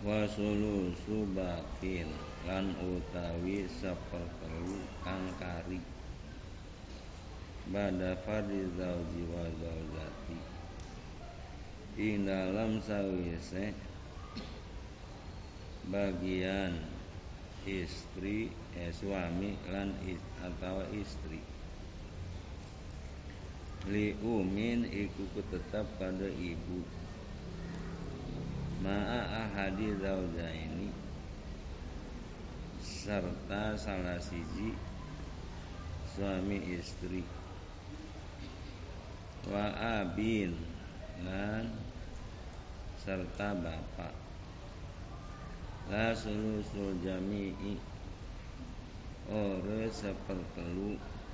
Wasulusu bakin lan utawi sepertelu kang kari bada fardhi zauji wa zaujati ing dalam sawise bagian istri suami lan atau istri li umin iku tetap pada ibu ma'a ahadi zaujaini serta salah siji suami istri wa abin lan serta bapak la sulusul jami'i ore sepertelu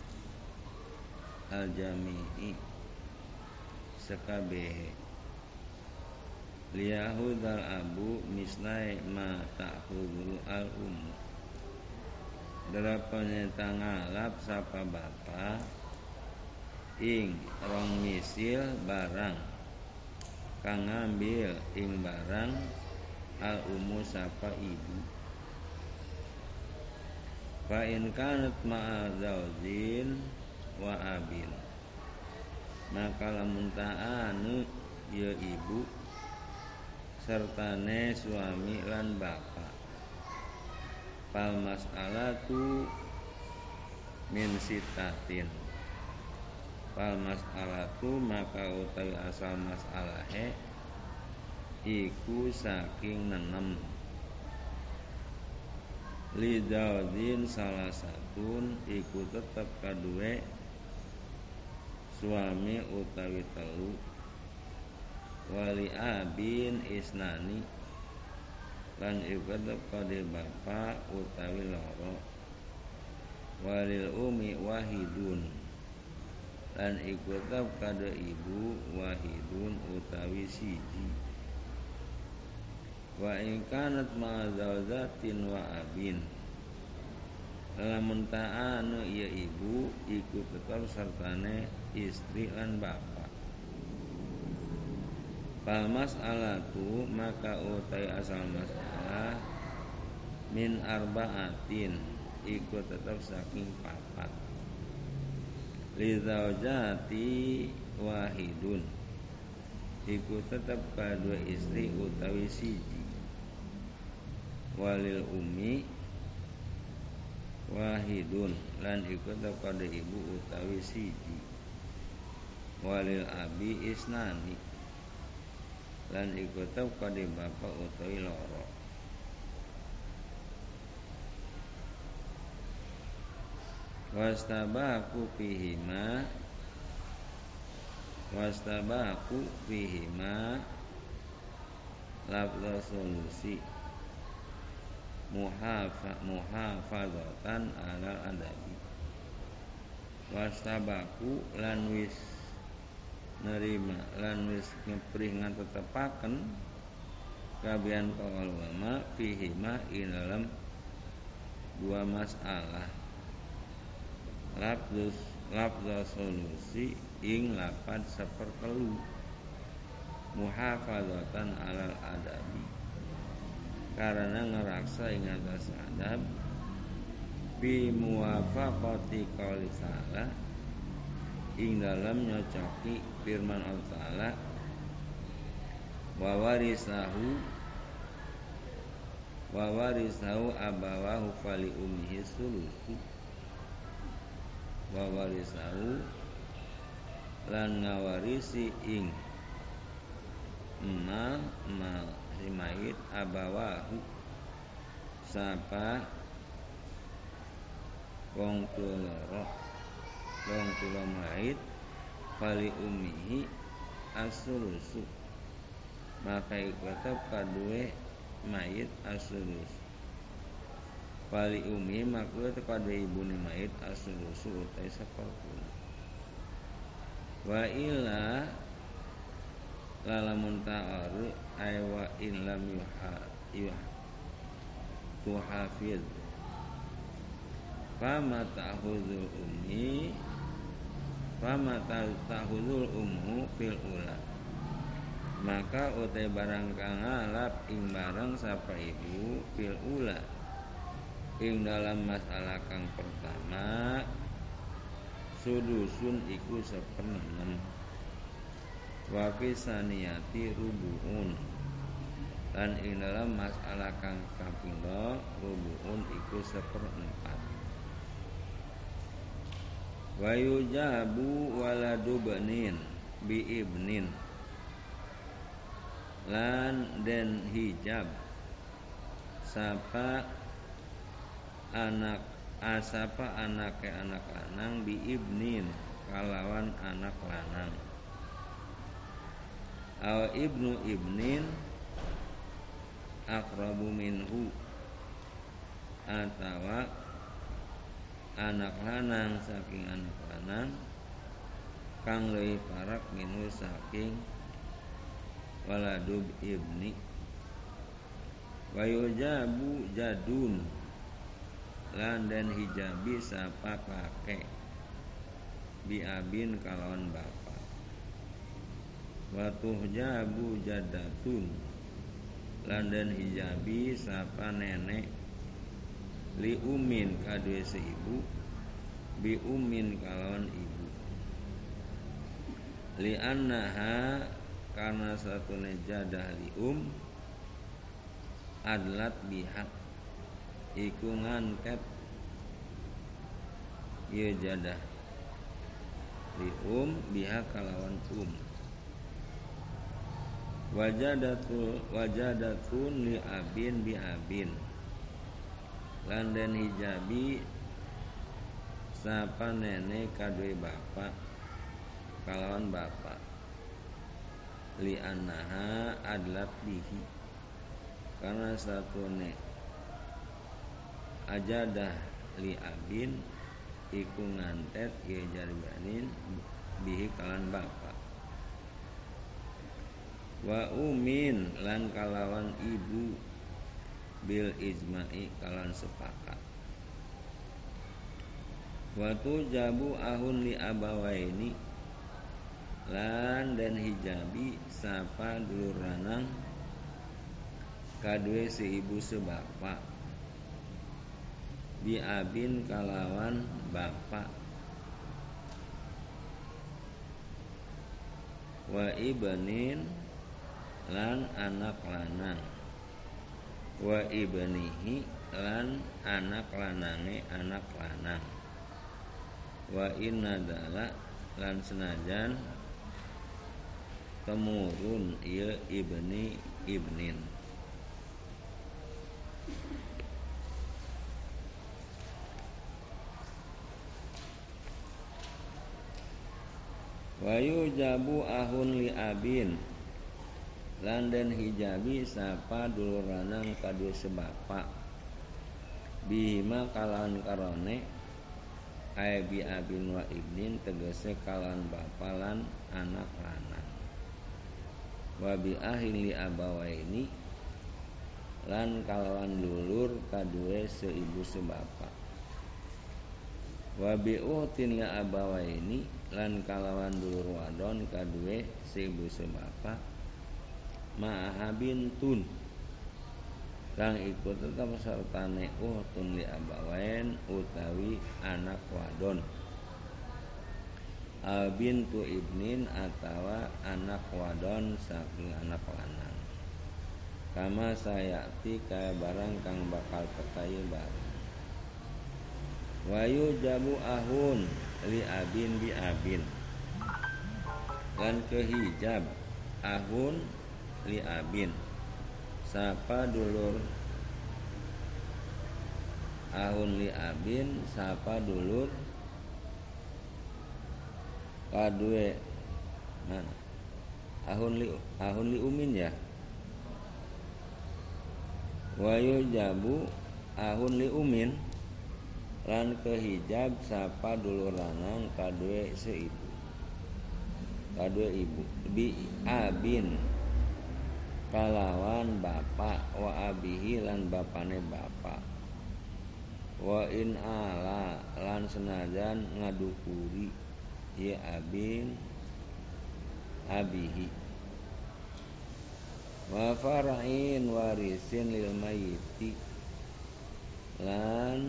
al jami'i sekabehe liyahudal abu mislai ma ta'khudul al Delapan tangalap sapa bapa ing rong misil barang kang ngambil ing barang al sapa ibu fa in kanat ma'a zaujin wa abin maka lamun ta'anu ya ibu sertane suami lan bapak fal mas'alatu min sitatin fal mas'alatu maka utawi asal mas'alahe iku saking 6 li zaujin salah satun iku tetep kaduwe suami utawi telu wali abin isnani lan iku tetep kade bapak utawi loro walil umi wahidun lan iku tetep kade ibu wahidun utawi siji wa in kanat ma zaujatin wa abin lamun ta'anu ya ibu iku tetep sertane istri lan bapak fal mas'alatu maka utai asal masalah min arba'atin iku tetap saking 4 li zaujati wahidun iku tetap kadua istri utawi siji walil ummi wahidun lan iku tetap kadua ibu utawi siji walil abi isnani lan iku tetep kade bapak utawi loro wastabaku fihima lafza solusi muhafadzatan alal adabi wastabaku lan wis nerima lan wis ngeprih ngatetepaken kabian para ulama fihima ing dalam dua masalah lafza solusi ing lapan sepertelu muhafadzatan alal adabi karena ngeraksa ing atas adab bi muwafaqati qouli ta'ala ing dalam nyocoki firman Allah Ta'ala wa warisahu abawahu fali ummihi sulusu wa warisahu lan ngawarisi ing ma si mayit abawahu sapa wong tuwa mayit fali ummihi as-sulusu maka iku tetep kaduwe mayit as-sulus fali ummi maka tetep kaduwe ibune mayit as-sulusu utai seperti wa illa lalamun ta'aru ay wa in lam tuhafid fama ta'khudul ummu fil ula maka utai barang kang ngalap ing barang sapa ibu fil ula ing dalam masalah kang pertama sudusun iku 1/6 wa fi saniyati rubuun lan ing dalam masalah kang kapindho rubuun iku 1/4 wa yujabu waladu banin bi ibnin lan den hijab sapa anak anake anak lanang bi ibnin kalawan anak lanang aw ibnu ibnin aqrabu minhu atawa anak lanang saking anak lanang kang leuwih parek minhu saking waladub ibni wa yujabu jadun lan den hijabi sapa kakek bi abin kalawan bapak wa tuhjabu jadatun lan den hijabi sapa nenek li umin kadue seibu bi umin kalawan ibu li annaha karena satune jadah li adlat bihak iku ngantet ye jadah li bihak kalawan wajadatun li abin bi abin lan den hijabi sapa nenek kadue bapak kalawan bapak li annaha adlat bihi karena satune ajadah li abin iku ngantet ye jarbanin bihi kalan bapak wa umin lan kalawan ibu bil ijma'i kalan sepakat wa tujabu ahun li abawaini lan dan hijabi sapa dulur lanang kadue si ibu sebapak bi abin kalawan bapak wa ibnin lan anak lanang wa ibnihi lan anak lanange anak lanang wa innadala lan senajan temurun ieu ibni ibnin wa yujabu ahun li abin lan den hijabi sapa dulur lanang kadue sebapak bihima kalawan karone ay bi abin wa ibnin tegese kalawan bapa lan anak lanang wa bi ahin li abawaini lan kalawan dulur kadue seibu sebapak wa bi uhtin li abawaini lan kalawan dulur wadon kadue seibu sebapak ma'ahabin tun kang iku tetap sertane uhtun li abawain utawi anak wadon bintu ibnin atawa anak wadon saking anak lanang kama sayati kaya barang kang bakal tekaye barang wayu jabu ahun li abin bi abin lan kehijab ahun li abin sapa dulur ahun li abin sapa dulur kadue mana ahun li umin ya wayu jabu ahun li umin lan kehijab sapa dulur lanang kadue seibu kadue ibu bi abin kalawan bapak wa abihi lan bapane bapak wa in ala lan senajan ngadukuri ye abin abihi wa far'in warisin lil mayyiti lan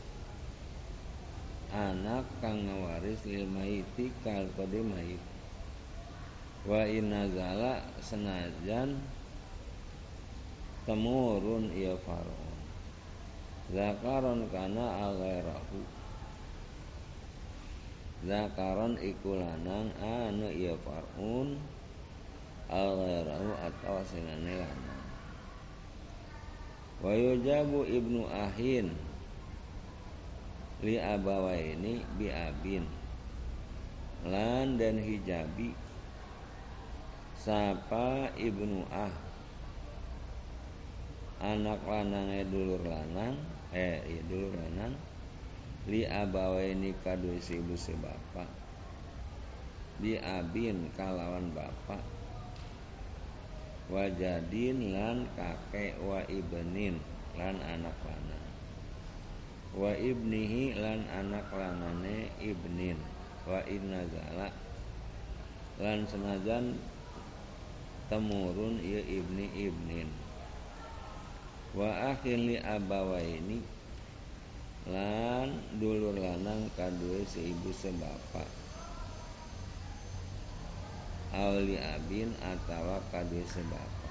anak kang ngawaris lil mayyiti kal kode mayit wa inazala senajan temurun ieu far'un zakaron kana aghairahu zakaron iku lanang anu ieu far'un aghairahu atau senane lanang wa yujabu ibnu ahin li abawaini bi abin lan dan hijabi sapa ibnu anak lanangnya dulur lanang dulur lanang li abawaini kadue ibu sebapa bi abin kalawan bapak wajadin lan kakek wa ibnin lan anak lanang wa ibnihi lan anak lanane ibnin wa innazala lan senajan temurun ieu ibni ibnin wa akhil li abawaini lan dulur lanang kadue seibu sebapa auli abin atawa kadue sebapa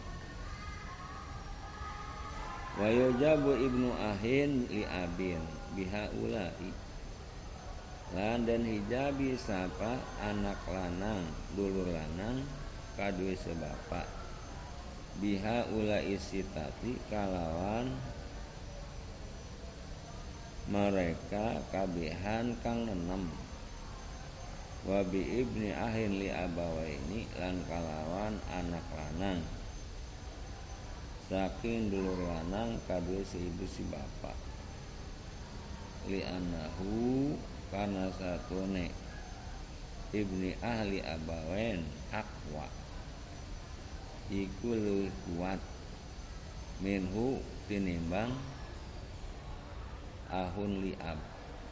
wa yujabu ibnu ahin li abin biha ulai lan dan hijabi sapa anak lanang dulur lanang kadue sebapa biha ulai sitati kalawan mereka kabehan kang 6 wa bi ibni ahin li abawaini lan kalawan anak lanang saking dulur lanang kadue seibu si bapa li anahu kana satune ibni ahli abawen aqwa iku leuwih kuat minhu tinimbang ahun li ab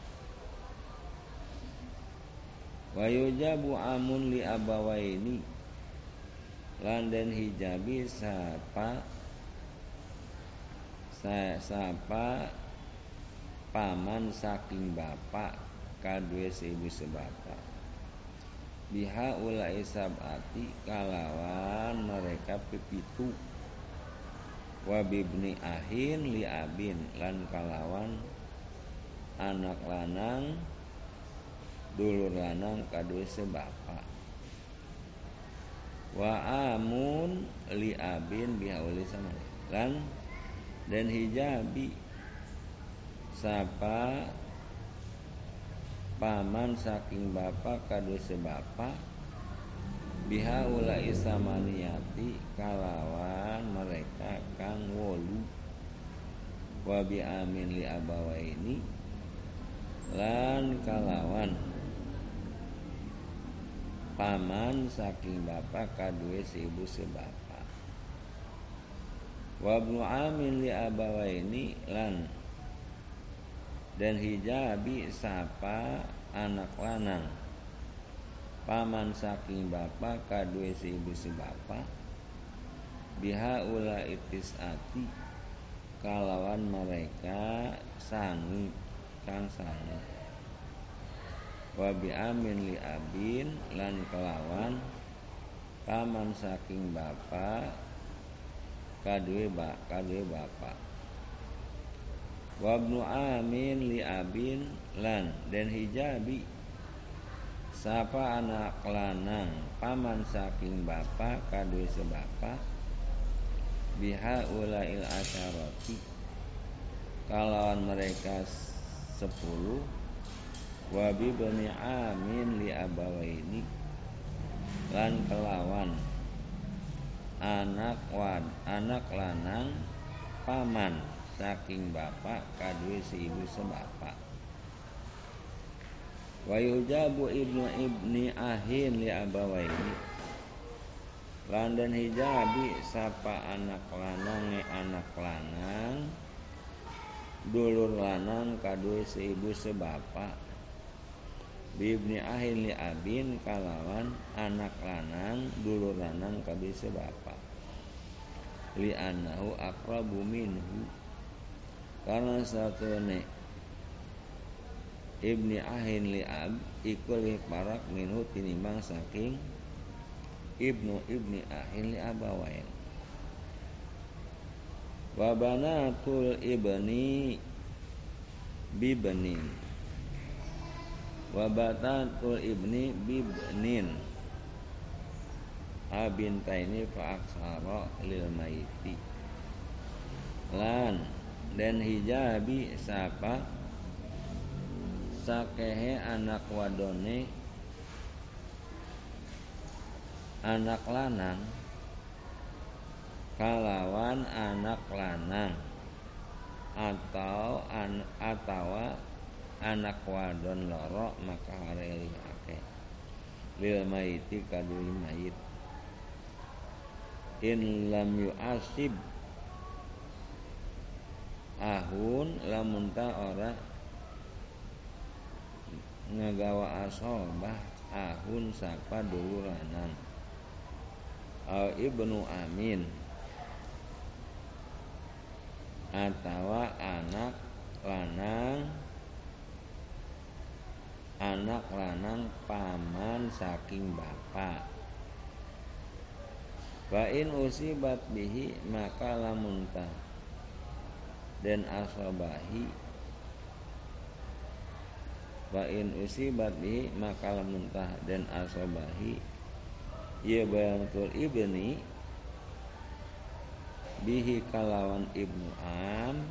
wa yujabu amun li abawaini lan den hijabi sapa paman saking bapak kadue seibu sebapa biha ulai sabati kalawan mereka pipitu wa bibni ahin li abin lan kalawan anak lanang dulur lanang kadue sebapa wa amun li abin biha ulai sama lan dan hijabi sapa paman saking bapak kadue sebapa biha ulai samaniyati kalawan mereka kang 8 wa bi amin li abawaini lan kalawan paman saking bapak kadue seibu sebapa wa ibnu amin li abawaini lan dan hijabi sapa anak lanang paman saking bapak kadue seibu sebapa biha ula itisati kalawan mereka sangi kang sangi wa bi amin li abin lan kalawan paman saking bapak kadue bapak wa ibnu amin li abin lan dan hijabi sapa anak lanang paman saking bapak kadue sebapa biha ulail asyarati kalawan mereka 10 wa bi bani amin li abawaini lan kelawan anak lanang paman saking bapak kadue seibu sebapa wa yujabu ibni ahin li abawaini lan dan hijabi sapa anak lanang dulur lanang kadue seibu sebapa bibni ahin li abin kalawan anak lanang dulur lanang kadue sebapa li annahu aqrabu minhu karena satune ibni ahin li ab iku li parak minhu tinimbang saking ibni ahin li abawain. Wa banatul ibni bibnin wa banatul ibni bibnin abintaini fa aksara lil maiti lan dan hijabi sapa sakehe anak wadone anak lanang kalawan anak lanang atau atawa anak wadon loro maka hareliake lil maiti kadui mayit in lam yu'asib ahun lamun ta ora ngagawa asobah ahun sapa duluranan au ibnu amin atawa anak lanang paman saking bapak. Wa in usibat bihi maka lamun ta dan asobahi wa in usibat bihi maka lamun ta dan asobahi ya bayantul ibni bihi kalawan ibnu am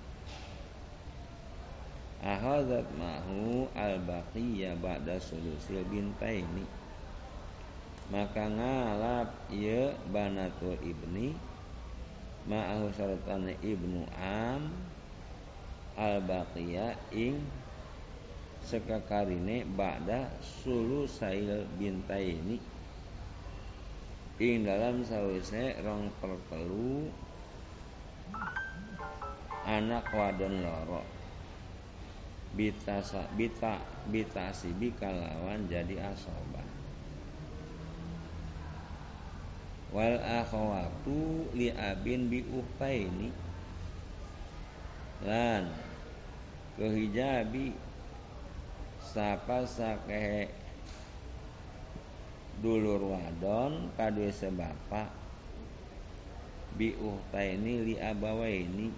ahadzat mahu al-baqiyya ba'da sulusil bintaini maka ngalap ya banatul ibni ma'ahu syaratan ibnu am al-baqiyya ing sekakarine ba'da sulusail bintaini ing dalam sawise 2/3 anak wadon loro bitasibi kalawan jadi asobah. Wal akhawatu li abin bi uhtaini lan kehijabi sapa sakehe dulur wadon kadue sebapa bi uhtaini li abawaini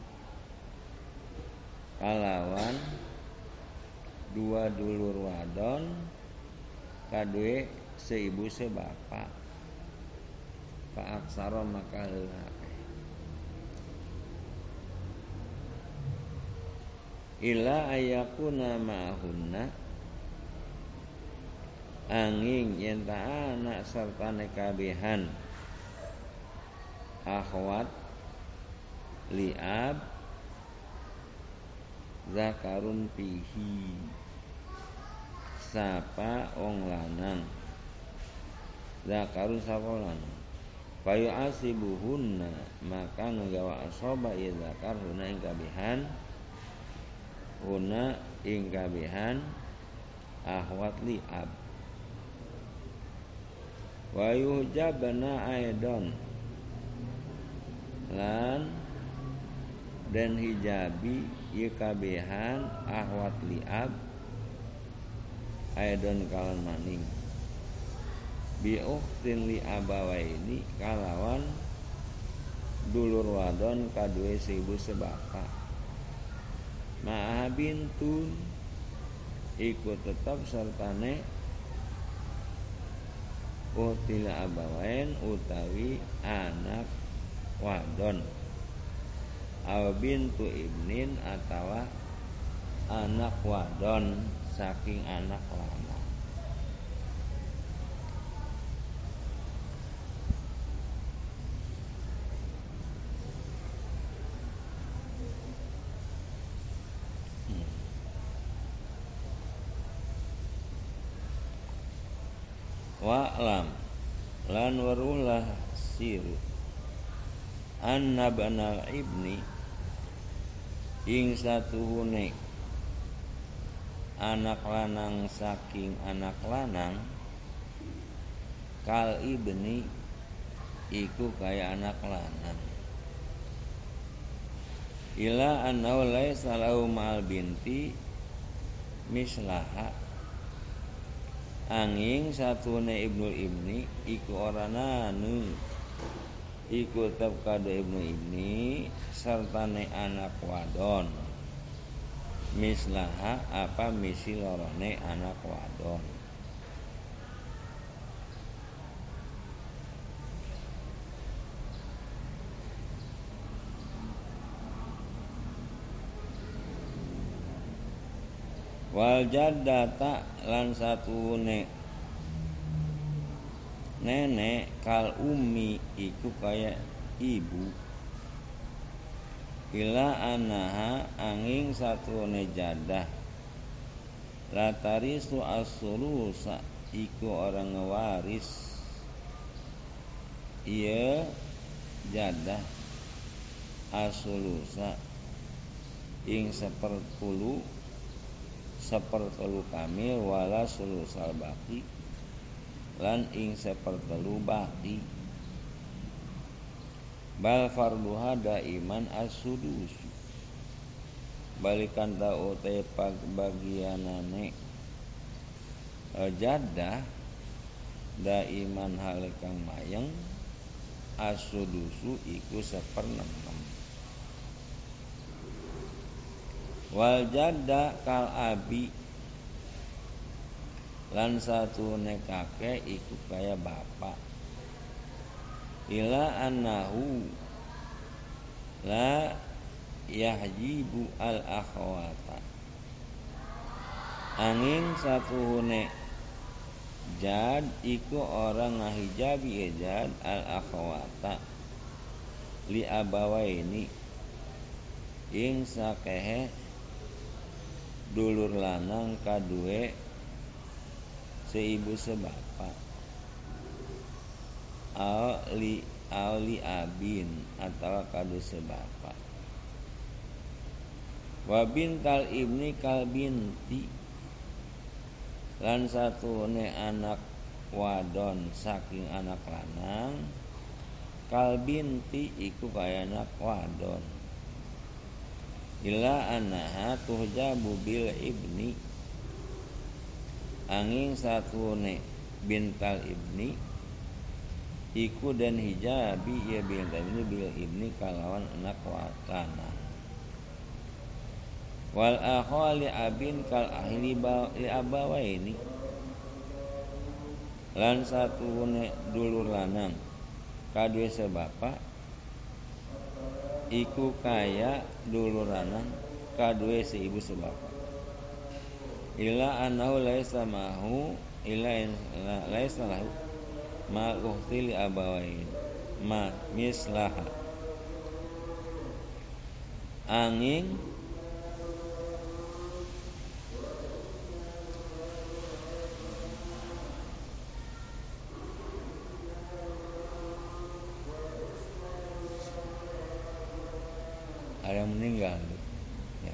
kalawan dua dulur wadon kadue seibu sebapa fa aksara maka heulake illa ayakuna ma'hunna angin yen ta anak sartane kabehan akhwat liab zakarun pihi sapa wong lanang zakarun sapa lanang fayu asibuhunna maka nggawa asoba ya zakar huna ing kabehan ahwat liab wa yuhjabna aidon lan dan hijabi ieu kabehan ahwat liab aidon kalan maning bi ukhtin li abawaini kalawan dulur wadon kadue seibu sebapa ma'ah bintun ikut tetap sertane ukhtil abawain utawi anak wadon aw bintu ibnin atawa anak wadon saking anak lanang. Wa'lam lan warulah siru anna banal ibni ing satuhune anak lanang saking anak lanang kal ibni iku kaya anak lanang ila annahu laisa lahu ma'al binti mislaha angin satune ibnul ibni iku orananu iku tetep kado ibnu ibni sertane anak wadon mislaha apa misi lorone anak wadon. Wal jaddata lan satune nenek kal ummi iku kaya ibu ila anaha angin satune jadah latarisu as-sulusa iku orang ngewaris iya jadah as-sulusa ing sepertelu kamil wala sulusal baki lan ing sepertelu baki bal farduha daiman as-sudus balikan tau te bagianane jadah daiman halikang mayeng as-sudusu iku 1/6. Wal jadda kal abi lan satune kakek iku kaya bapak ila annahu la yahjibu al akhwata angin satune jad iku orang ngahijabi jad al akhwata li abawaini ing sakehe dulur lanang kadue seibu sebapak ali abin atau kadu sebapak wa bintal ibni kal binti lan satune anak wadon saking anak lanang kal binti iku kaya anak wadon ila annaha tuhjabu bil ibni angin satune bintal ibni iku dan hijabi ya bintal ibni bil ibni kalawan anak lanang wal akhwali abin kal ahli li abawaini lan satune dulur lanang kadue sebapak iku kaya dulur lanang kadue seibu sebapak ila annahu laisa mahu ila laisa lahu ma ukhti li abawain ma mislaha angin ada yang meninggal ya.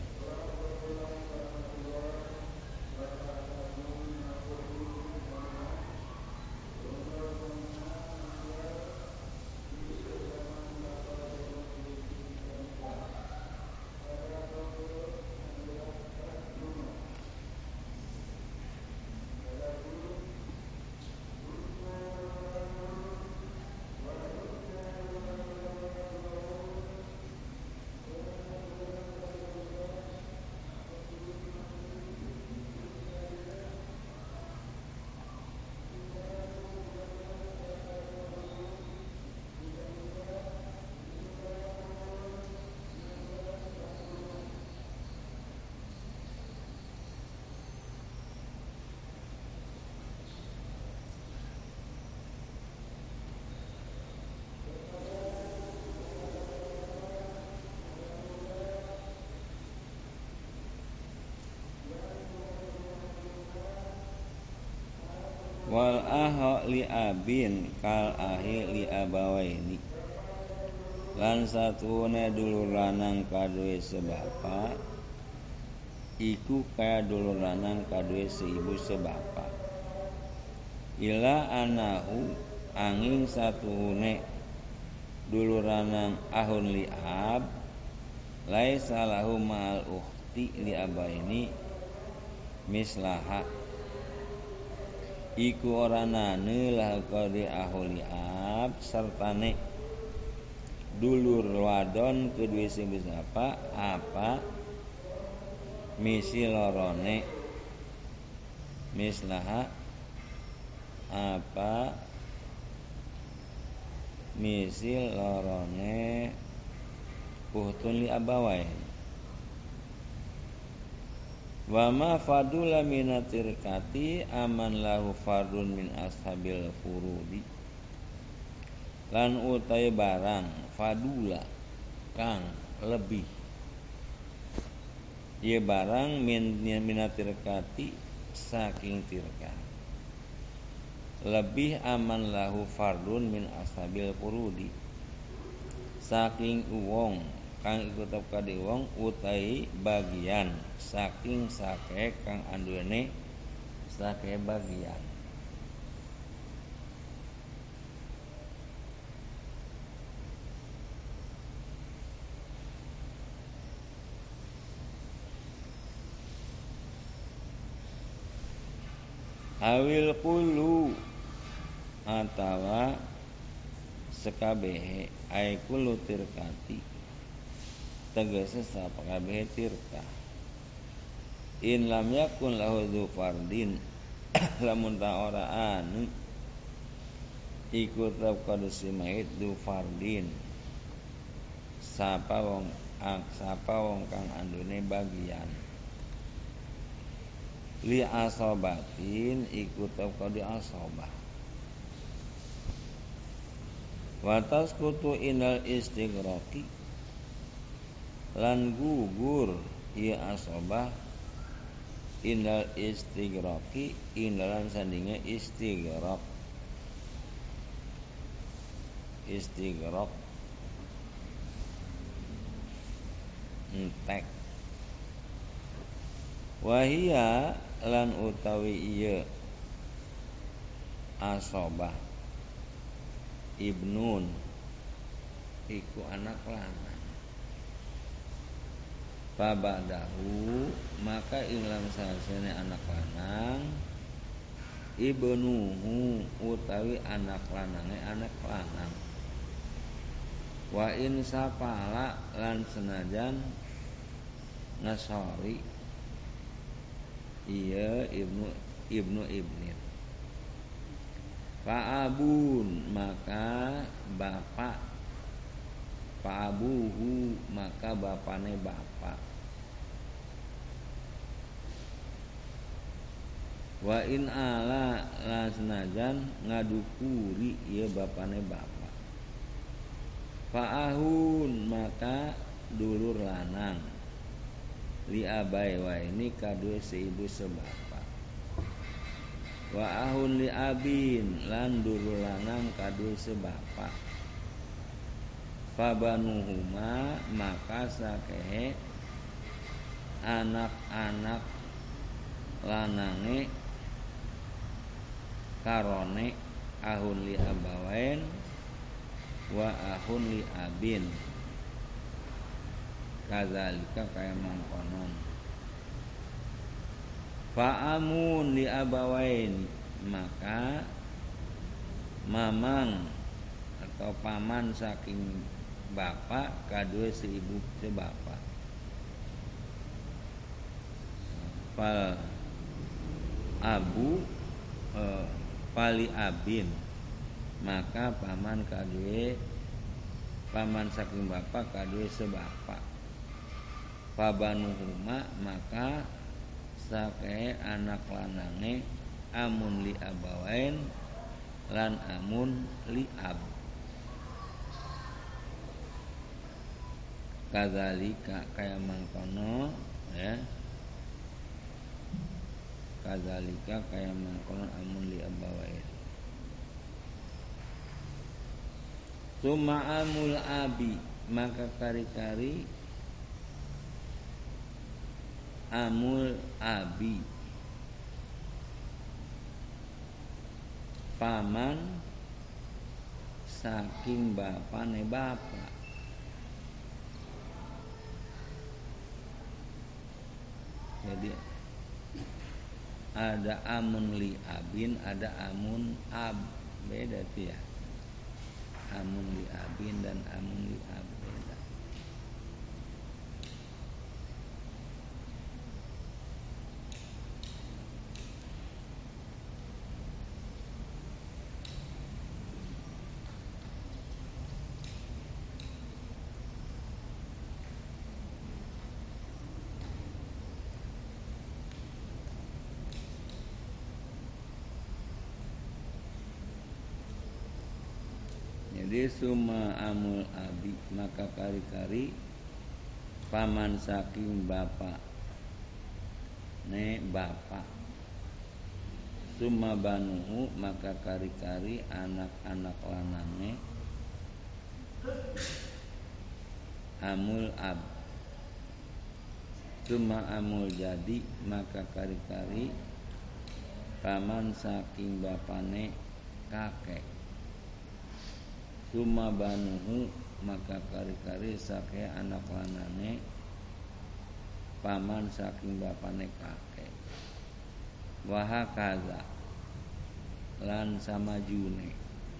Wal aha li abin kal ahi li abawaini lan satune dulur lanang kadue sebapak iku kaya dulur lanang kadue seibu sebapak ila anahu angin satune dulur lanang ahun li ab laisa lahu ma'al ukhti li abaini mislaha iku ora nane lah kode ahli ab sertane dulur wadon kedue sing wis apa misi lorone mislaha apa misi lorone uhtun li abawai wa ma fadula minatirkati aman lahu fardun min ashabil furudi lan utai barang fadula kang lebih ieu barang minatirkati saking tirka lebih aman lahu fardun min ashabil furudi saking wong kang iku tetep kade wong utai bagian saking sake kang anduene sake bagian awil kulu atawa sekabehe ay kulu tirkati tegese sapakabehe tirka in lam yakun lahu dzu fardin lamun ta ora anu iku tetep kudu simait dzu fardin sapa wong kang andune bagian li asobatin iku tetep kudu asobah watas kutu inal istighraqi lan gugur ia asobah indal istighraqi indalan sandinge istighraq entek wahia lan utawi ieu asobah ibnun iku anak lanang Fabadahu maka inglam sasene anak lanang ibnuhu utawi anak lanange anak lanang wa in sapala lan senajan ngasori iya ibnu ibnin fa abun maka bapak fa abuhu maka bapane bapak wa in ala la senajan ngadukuri ieu bapane bapak fa ahun maka dulur lanang li abai wa ini kadue seibu sebapa wa ahun li abin lan dulur lanang kadue sebapa fa banuhuma maka sakehe anak-anak lanange karone ahun li abawain wa ahun li abin kadzalika kaya mangkonon fa amun li abawain maka mamang atau paman saking bapak kadue si ibu si bapak fal abu pali abin maka paman kadue paman saking bapak kadue sebapak fabanuhuma maka sake anak lanange amun li abawain lan amun li ab kadzalika kaya mangkono ya kadzalika kaya mangkono amun li abawain summa amul abi maka kari-kari amul abi paman saking bapane bapak Jadi ada amun li abin, ada amun ab, beda tuh ya. Amun li abin dan amun li ab beda. Jadi summa amul abi, maka kari-kari paman saking bapak ne bapak. Summa banuhu, maka kari-kari anak-anak lanange amul ab. Summa amul jadi, maka kari-kari paman saking bapane kakek. Summa banuhu, maka kari-kari sake anak lanane paman saking bapane kakek. Wahakaza lan samajune.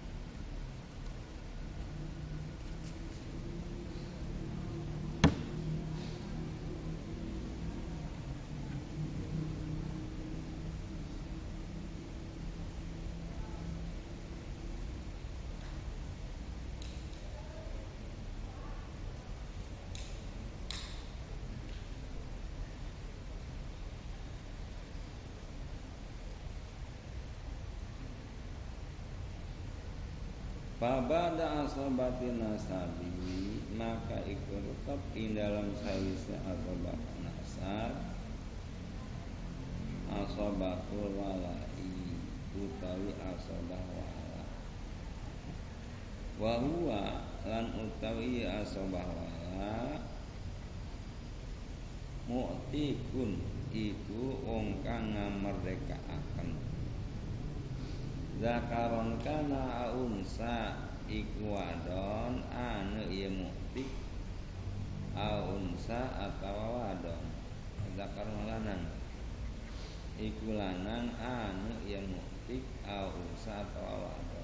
Fabada asobati nasabi, maka ikut tetap ing dalam sawise asobah nasab asobatul walai, utawi asobah wala. Wa huwa lan utawi asobah wala mu'tikun, iku wong kang ngamerdekaaken. Zakaron kana unsa, iku wadon anu ieu muktik unsa atawa wadon. Zakaron lanang iku lanang anu ieu muktik unsa atawa wadon.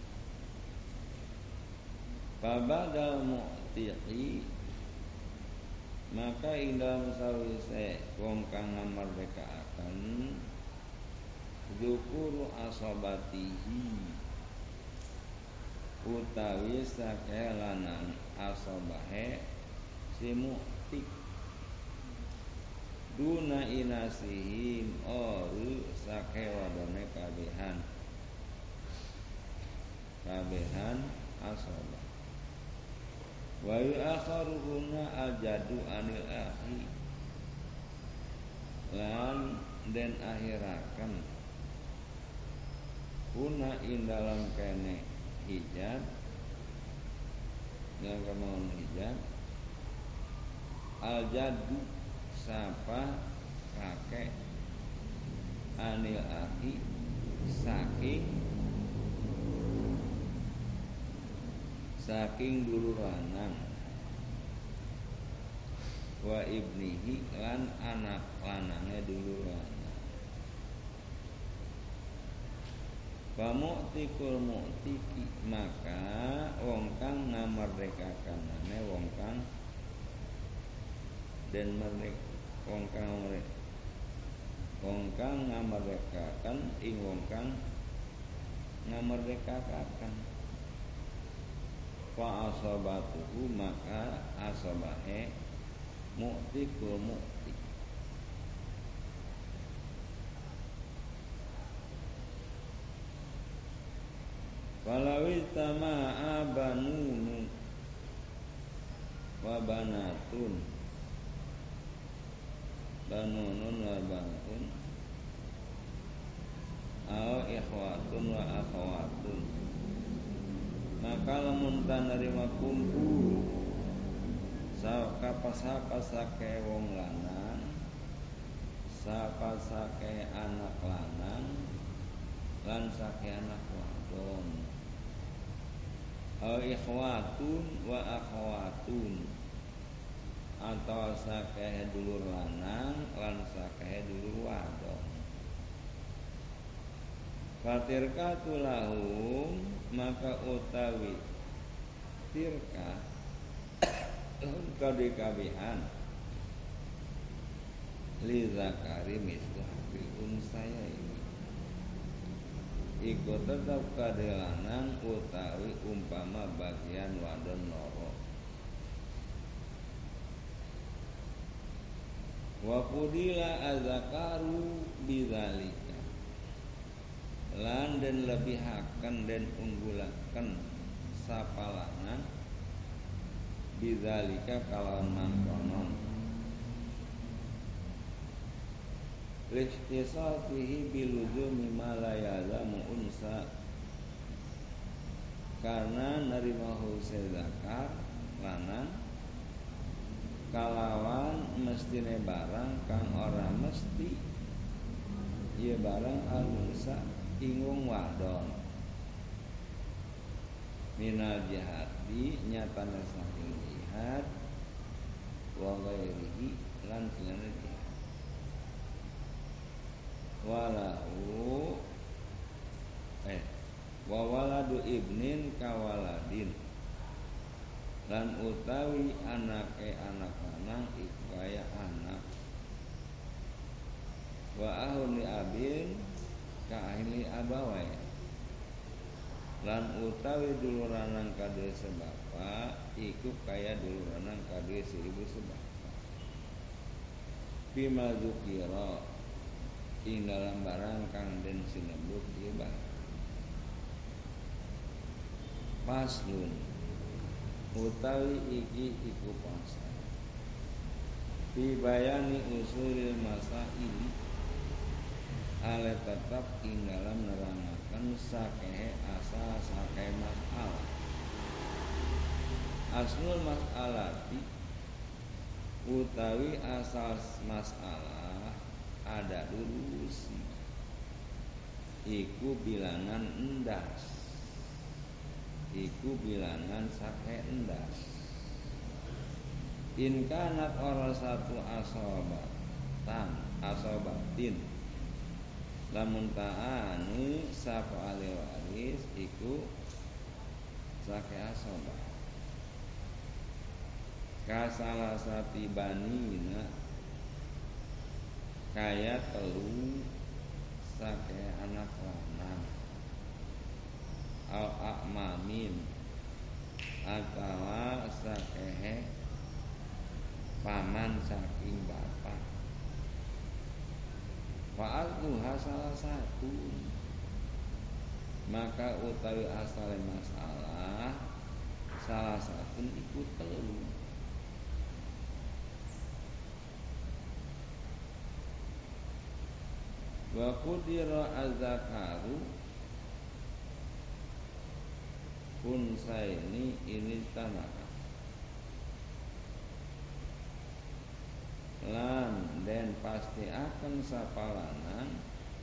Babadal mu'tiqi, maka ing dalam sawise wong kang ngamerdekaaken dzukuru asobatihi, utawi sake lanang asobahe si muktik. Duna inasihim, oru sake wadone kabehan asobah. Wa yu'akharuhuna aljadu anil akhi, lan den akhiraken kuna ing dalam kene hijab, yang kemauan hijab aljadu sapa kakek anil akhi saking dulur lanang, wa ibnihi lan anak lanange dulur lanang. Pamu'tikul mu'tiki, maka wong kang ngamerdekakanane wong kang den merdek, wong kang ngamerdekakan ing wong kang ngamerdekakan. Fa asobatuhu, maka asobahe mu'tikul mu'tik. Walawi tama'a banunu wa banatun, banunun wa banatun, au ikhwatun wa akhwatun, maka lamun tanerima kumpul sapa sake wong lanang, sapa sake anak lanang, lan sake anak wadon. Au ikhwatun wa akhwatun, atau sakehe dulur lanang lan sakehe dulur wadon. Fatirkatu lahum maka utawi tirka lahum kabeh-kabehan li zakari mislu habil unsaya ini iku tetap kadhe lanang utawi umpama bagian wadon loro. Wa qudila azakaru bidzalika lan den lebihaken den unggulaken sapalangan bidzalika kalawan mangkonon listisatihi biluzumi ma la yalzamu unsa karena narimahu zakar lanang kalawan mestine barang kang ora mesti ieu barang al-unsa ingung wadon minal jihadi nyatana saking jihad wa ghairihi lan singane jihad walau wa waladu ibnin kawaladin lan utawi anake anak lanang iku kaya anak wa ahli abin ka ahli abawai lan utawi dulur lanang kadue sebapa iku kaya dulur lanang kadue ibu sebapa bima dzukira ing dalam barang kang den sinebut ieu barang paslun utawi iki iku pasal bibayani usulil masaili ale tetap ing dalam nerangaken sakehe asal sakehe masalah aslul masalati utawi asal masalah ada durusi iku bilangan endas iku bilangan sakehe endas in kanat ora satu asobatin lamun ta'ani sapa ahli waris iku sakehe asobat kasalasati banina kaya telu sakehe anak lanang al a'mamin atawa sakehe paman saking bapak fa'adluha salah satu maka utawi asale masalah salah satu iku telu wa qudira az-zakaru unsaini ini tanaka lan den pasti akan sapalanang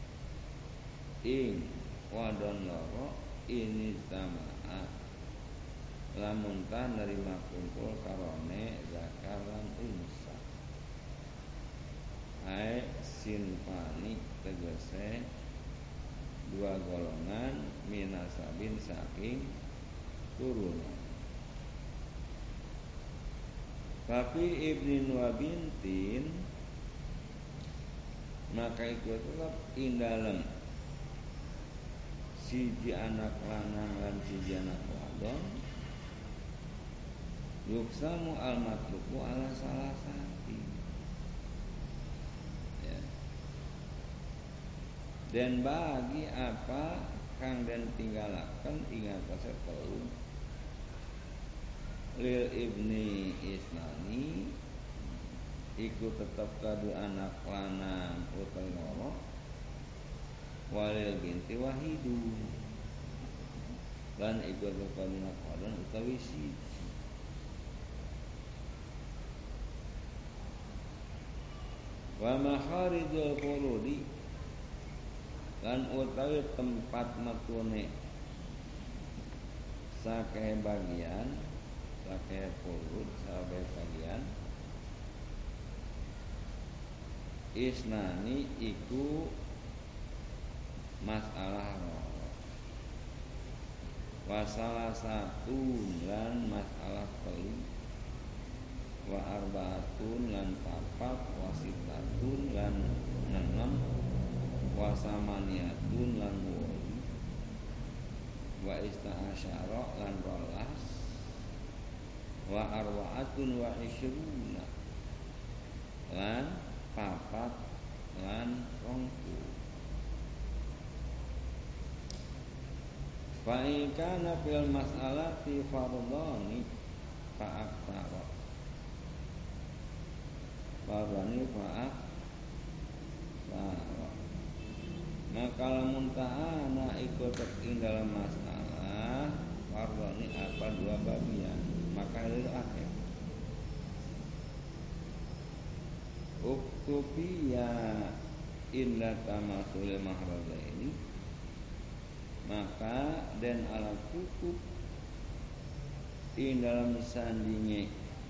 ing wadon loro ini tamaa lamun ta nerima kumpul karone zakar lan unsa ai sinfani tegese dua golongan minasabin saking turunan tapi ibnin wa bintin maka itu tetap ing dalem siji anak lanang lan siji anak wadon yuksamu al matluku ala salah sati ya. Dan bagi apa kang den tinggalaken ing atase telu lil ibni isnani iku tetep kadu anak lanang utawi loro walil binti wahidu lan iku tetep kadu anak wadon utawi siji wa maharidul furudi lan utawi tempat metune sakehe bagian sakehe furud sakehe bagian isnani iku masalah loro wa salah satu lan masalah telu wa arbaatun lan papat wa sitatun lan nenem wa samaniatun lan wolu wa ista'asyara lan rolas wa arwa'atun wa isyruna lan papat lan rongku. Fa in kana fil mas'alati fardhani fa aktsara. Fardhani fa aktsara. Maka lamun ta'ana ikut ing dalam masalah fardhani apa dua bagian, maka itu akhir. Uktubiya inda tamasul mahrazaini, maka dan alat cukup ing dalam sandinge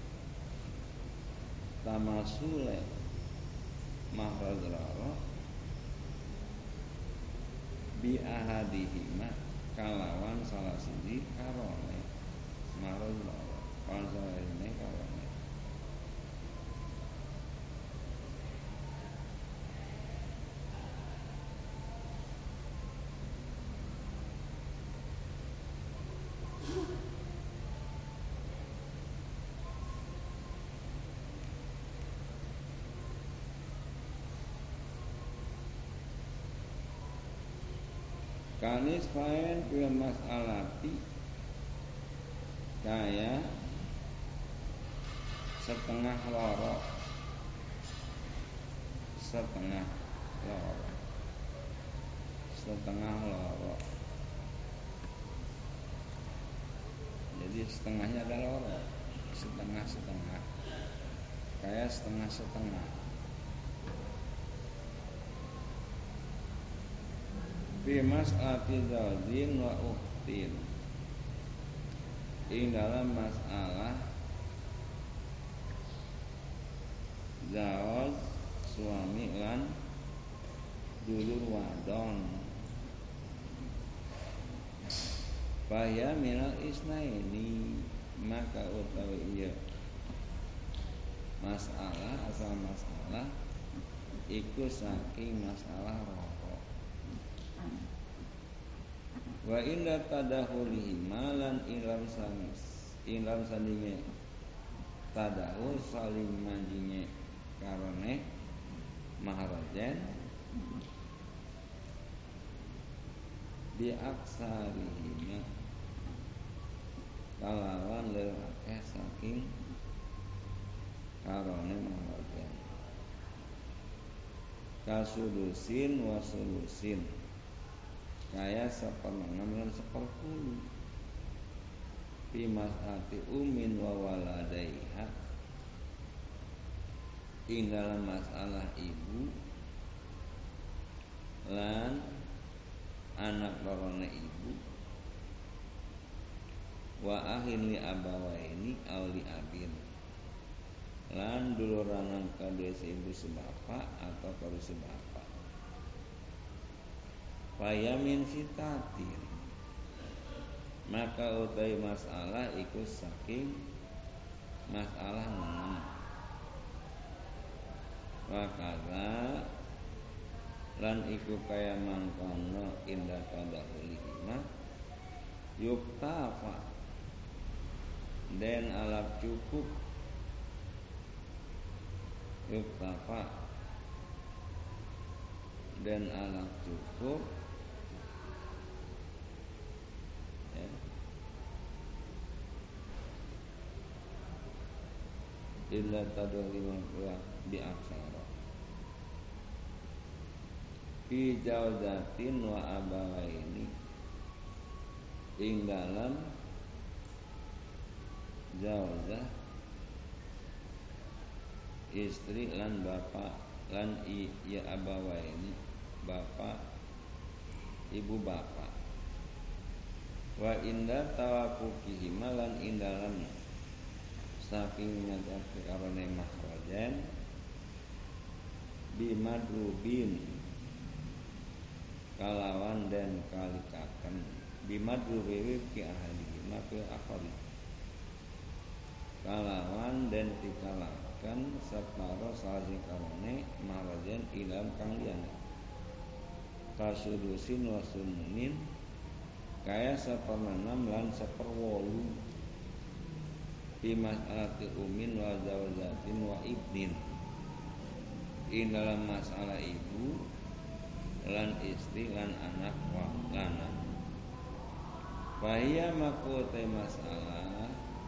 tamasule mahrazrara bi ahadihima kalawan salah siji karone mahrazrara kalawan salah siji karone. Kanis faen fil mas'alati kaya setengah loro setengah loro, jadi setengahnya ada loro, setengah kayak setengah fi mas'alati zawjin wa ukhtin ing dalam masalah zawaj suami lan dulur wadon. Faya minal isnaini, maka utawi iya masalah asal masalah iku saking masalah rokok. Wa inda tadahulihi malan ilam sandinge tadahu saling manjinge karone maharajen di aksarihima kalawan lelake saking karone maharajen kasudusin wa sulusin kaya 1/6 lan 1/10 fi mas'ati umin wa waladaiha ing dalam masalah ibu lan anak lorone ibu wa ahin li abawaini aw li abin lan duluranan kadue ibu sebapak atau kadue sebapak. Fayamin sitatin, maka utai masalah iku saking masalah 6. Wakala lan iku kaya mangkono indah tadahulihima yuktafa den alap cukup yuktafa dan alap cukup illa tadahulihima di aksara fi jawzatin wa abawaini ing dalam jawzah istri lan bapak lan ya abawaini bapak ibu bapak wa inda tawakufihima lan ing dalam saking nyadar karone mahrajan bimadrubin kalawan dan kalikaken bimadrubi fi ahli mafil akhari kalawan dan dikalakan separo salasi karone marajen ilam kang liyane kasudusin wa sumunin kaya seperenam lan seperwolu fi mas'alati umin wa zawjatin wa ibnin ing dalam masalah ibu lan istri lan anak wa lanang bahia makote masalah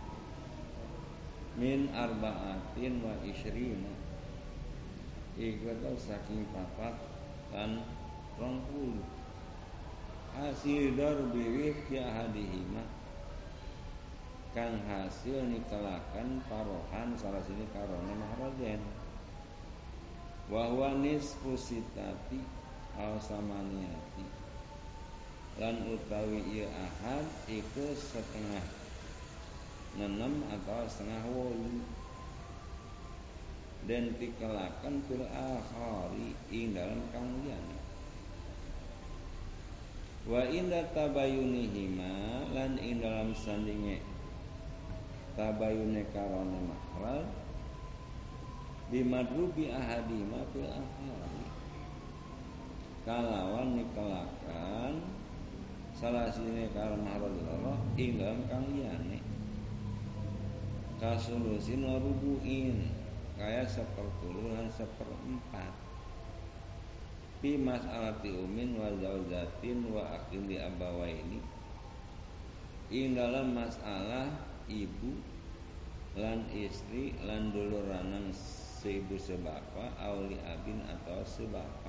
min arba'atin wa isyrina iku saking papat lan 20 hasil darbi fi ahadihima kang hasil nikelakan parohan salah sini karone mahrajen wa huwa nisfu sitati aw samaniati lan utawi ieu ahad iku setengah 6 atau setengah 8 dan dikelakan fil akhari ing dalam kang liyane wa inda tabayunihima lan ing dalam sandinge tabayune karone makhraj bimadrubi ahadima fil akhari kalawan nikelakan salah sini karo makhraj loro ing dalam kang liyane kasulusin wa rubu'in kaya 1/10 lan 1/4 fi mas'alati umin wa zawjatin wa akhil li abawaini ing dalam masalah ibu lan istri lan dulur lanang seibu sebapa auli abin atau sebapa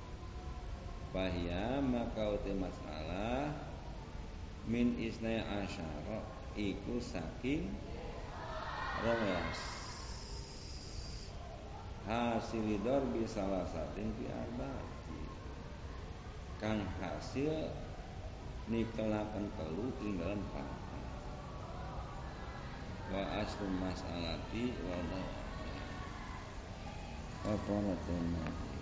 bahya maka uti masalah min isnai asyara iku saking 12 hasilidor bisalah satin fi arba'ati kang hasil nikelakan telu ing dalam papat wa aslu mas'alati wa apa